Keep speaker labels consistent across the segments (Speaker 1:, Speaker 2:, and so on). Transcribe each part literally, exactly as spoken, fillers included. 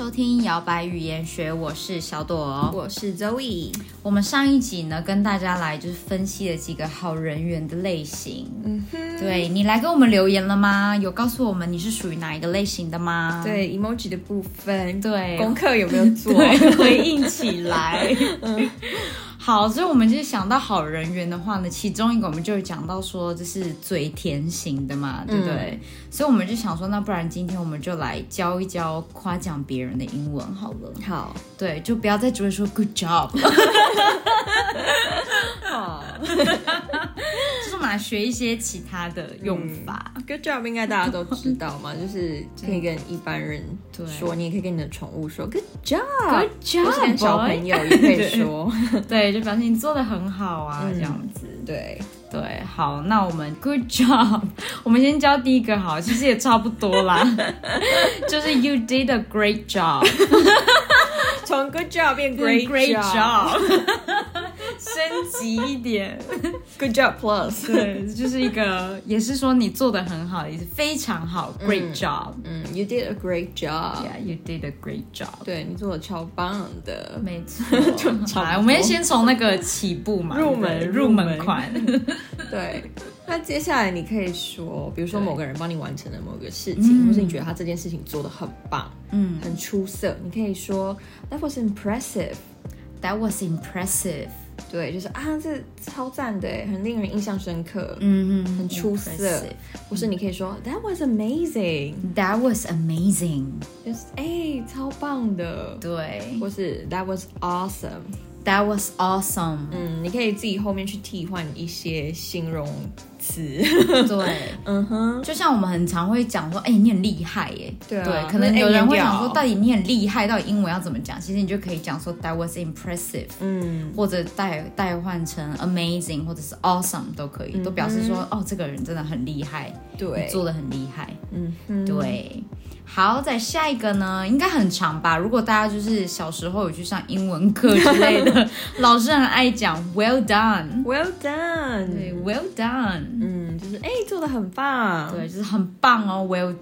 Speaker 1: 收听摇摆语言学，我是小朵，
Speaker 2: 我是 Zoe。
Speaker 1: 我们上一集呢，跟大家来就是分析了几个好人缘的类型。嗯哼，对，你来跟我们留言了吗？有告诉我们你是属于哪一个类型的吗？
Speaker 2: 对 emoji 的部分，
Speaker 1: 对，
Speaker 2: 功课有没有做？
Speaker 1: 对，回应起来。嗯，好，所以我们就是想到好人缘的话呢，其中一个我们就有讲到说，这是嘴甜型的嘛，对不对？嗯，所以我们就想说，那不然今天我们就来教一教夸奖别人的英文好了。
Speaker 2: 好，
Speaker 1: 对，就不要再只会说 good job。好，就是我们来学一些其他的用法。
Speaker 2: 嗯、good job 应该大家都知道嘛，就是可以跟一般人说，你也可以跟你的宠物说 good job，good
Speaker 1: job，
Speaker 2: 或是跟小朋友也可以说，
Speaker 1: 对，就表示你做得很好啊，嗯、这样子。
Speaker 2: 对
Speaker 1: 对，好，那我们 good job， 我们先教第一个好，其实也差不多啦，就是 you did a great job，
Speaker 2: 从 good job 变 great
Speaker 1: great
Speaker 2: job，
Speaker 1: 升级一点
Speaker 2: ，good job plus，
Speaker 1: 对，就是一个也是说你做得很好的意思，非常好 ，great job，
Speaker 2: 嗯, 嗯 ，you did a great job，yeah，
Speaker 1: you did a great job，
Speaker 2: 对你做的超棒的，
Speaker 1: 没错，好，我们先从那个起步嘛，
Speaker 2: 入门
Speaker 1: 入门款。
Speaker 2: 对，那接下来你可以说，比如说某个人帮你完成了某个事情，或是你觉得他这件事情做得很棒，嗯，很出色，你可以说 That was impressive.
Speaker 1: That was impressive.
Speaker 2: 对，就是啊，这超赞的，很令人印象深刻，
Speaker 1: 嗯嗯，
Speaker 2: 很出色。或是你可以说 That was amazing.
Speaker 1: That was amazing.
Speaker 2: 就是哎，超棒的。
Speaker 1: 对，
Speaker 2: 或是 That was awesome.That
Speaker 1: was awesome.
Speaker 2: 嗯，你可以自己后面去替换一些形容词。
Speaker 1: 对，嗯哼，就像我们很常会讲说，哎、欸，你很厉害耶。
Speaker 2: 对啊，
Speaker 1: 对，可能有人会想说，到底你很厉害，到底英文要怎么讲？其实你就可以讲说 That was impressive， 嗯，或者代代换成 amazing 或者是 awesome 都可以，嗯、都表示说，哦，这个人真的很厉害，
Speaker 2: 对，
Speaker 1: 你做得很厉害，
Speaker 2: 嗯哼，
Speaker 1: 对。好，再下一个呢，应该很长吧？如果大家就是小时候有去上英文课之类的，老师很爱讲 well done，well
Speaker 2: done，
Speaker 1: 对 ，well done，
Speaker 2: 嗯，就是哎，做得很棒，
Speaker 1: 对，就是很棒哦 ，well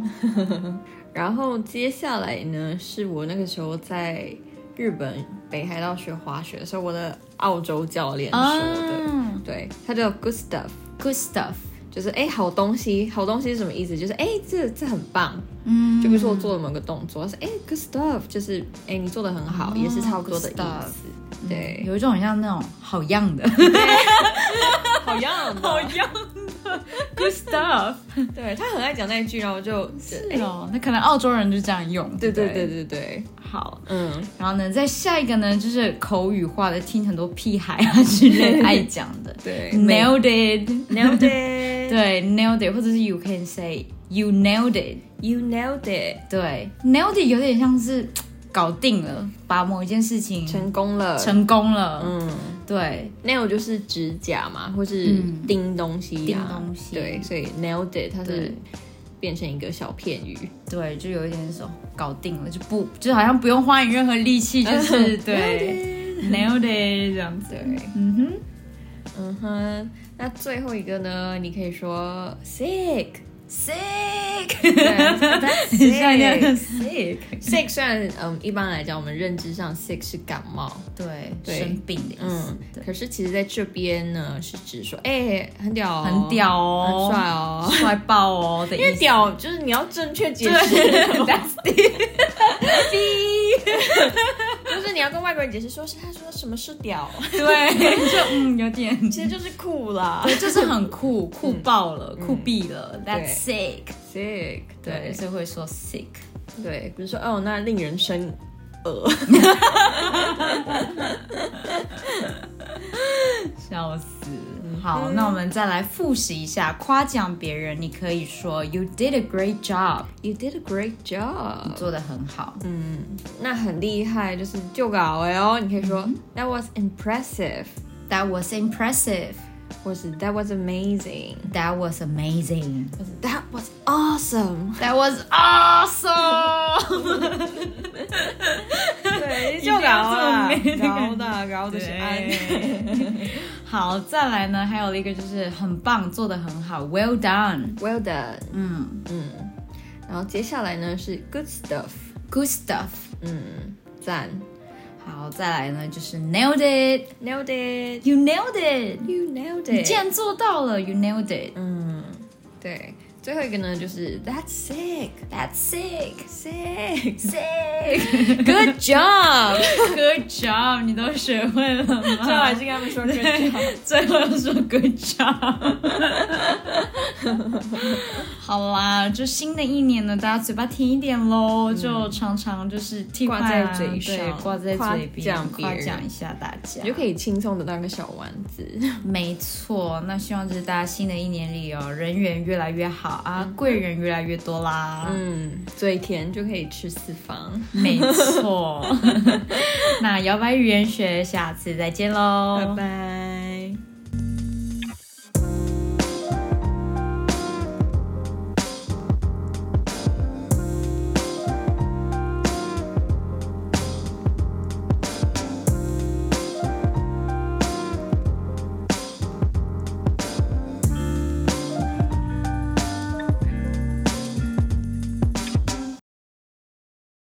Speaker 1: done。
Speaker 2: 然后接下来呢，是我那个时候在日本北海道学滑雪的时候，我的澳洲教练说的，嗯、对，他叫 good stuff，good
Speaker 1: stuff。
Speaker 2: 就是哎，好东西，好东西是什么意思？就是哎，这这很棒，嗯，就比如说我做了某个动作，是哎 good stuff， 就是哎你做的很好，哦、也是差不多的意思。对、
Speaker 1: 嗯，有一种很像那种好样的，
Speaker 2: 好样的，
Speaker 1: 好样的 ，good stuff。
Speaker 2: 对，他很爱讲那一句，然后我就，
Speaker 1: 是哦，那可能澳洲人就这样用。
Speaker 2: 对对对对对，
Speaker 1: 好，嗯，然后呢，再下一个呢，就是口语化的，听很多屁孩啊之类爱讲的，
Speaker 2: 对
Speaker 1: ，nailed it，nailed
Speaker 2: it，
Speaker 1: 对 ，nailed it， 或者是 you can say you nailed it，you
Speaker 2: nailed it，
Speaker 1: 对 ，nailed it 有点像是搞定了，把某一件事情
Speaker 2: 成功了，
Speaker 1: 成功了，嗯，对
Speaker 2: ，nail 就是指甲嘛，或是钉东西、啊，
Speaker 1: 钉东西，
Speaker 2: 对，所以 nailed it 它是变成一个小片语，
Speaker 1: 对，就有一点说搞定了，就不就好像不用花你任何力气，就是对 nailed it 这样子，
Speaker 2: 对，
Speaker 1: 嗯哼，
Speaker 2: 嗯哼，那最后一个呢，你可以说 sick。sick， 对 ，that's sick sick sick 虽然嗯一般来讲我们认知上 sick 是感冒，
Speaker 1: 对，对生病的意思，
Speaker 2: 嗯，可是其实在这边呢是指说，哎、欸，很屌、哦，
Speaker 1: 很屌哦，
Speaker 2: 很帅哦，
Speaker 1: 帅爆哦的意思，
Speaker 2: 因为屌就是你要正确解释
Speaker 1: ，that's the，
Speaker 2: 就是你要跟外国人解释说是他说什么是屌，
Speaker 1: 对，就嗯有点，
Speaker 2: 其实就是酷啦，
Speaker 1: 对，就是很酷，酷爆了，嗯、酷毙了 ，that's sick。
Speaker 2: sick，
Speaker 1: 对，所以会说 sick，
Speaker 2: 对，比如说哦，那令人生恶，
Speaker 1: 笑死。好，嗯、那我们再来复习一下，夸奖别人，你可以说 You did a great job，
Speaker 2: You did a great job，
Speaker 1: 你做得很好。
Speaker 2: 嗯，那很厉害，就是就搞哎哦，你可以说、嗯、That was impressive，
Speaker 1: That was impressive。
Speaker 2: 或是 That was amazing，
Speaker 1: That was amazing，
Speaker 2: 或是 That was awesome，
Speaker 1: That was awesome
Speaker 2: 对，就搞啊，搞的搞的是安。
Speaker 1: 好，再来呢，还有一个就是很棒，做得很好 ，Well done，
Speaker 2: Well done，
Speaker 1: 嗯
Speaker 2: 嗯。然后接下来呢是 Good stuff，
Speaker 1: good stuff。
Speaker 2: 嗯，赞。
Speaker 1: 好，再来呢就是 nailed it，nailed
Speaker 2: it，
Speaker 1: you nailed it，you
Speaker 2: nailed it，
Speaker 1: 你竟然做到了 ，you nailed it。
Speaker 2: 嗯，对。最后一个呢，就是 That's sick,
Speaker 1: That's sick,
Speaker 2: sick,
Speaker 1: sick.
Speaker 2: Good job,
Speaker 1: good job. 你都学会了吗？
Speaker 2: 最后还是跟他们说 Good job，
Speaker 1: 最后又说 Good job。好啦，就新的一年呢，大家嘴巴甜一点咯，嗯、就常常就是替
Speaker 2: 挂在嘴上，
Speaker 1: 对，挂在嘴边，
Speaker 2: 夸
Speaker 1: 奖一下大家，
Speaker 2: 你就可以轻松得到个小丸子。
Speaker 1: 没错，那希望就是大家新的一年里哦，人缘越来越好。啊，贵人越来越多啦，
Speaker 2: 嗯，嘴甜就可以吃四方，
Speaker 1: 没错。那摇摆语言学，下次再见喽，
Speaker 2: 拜拜。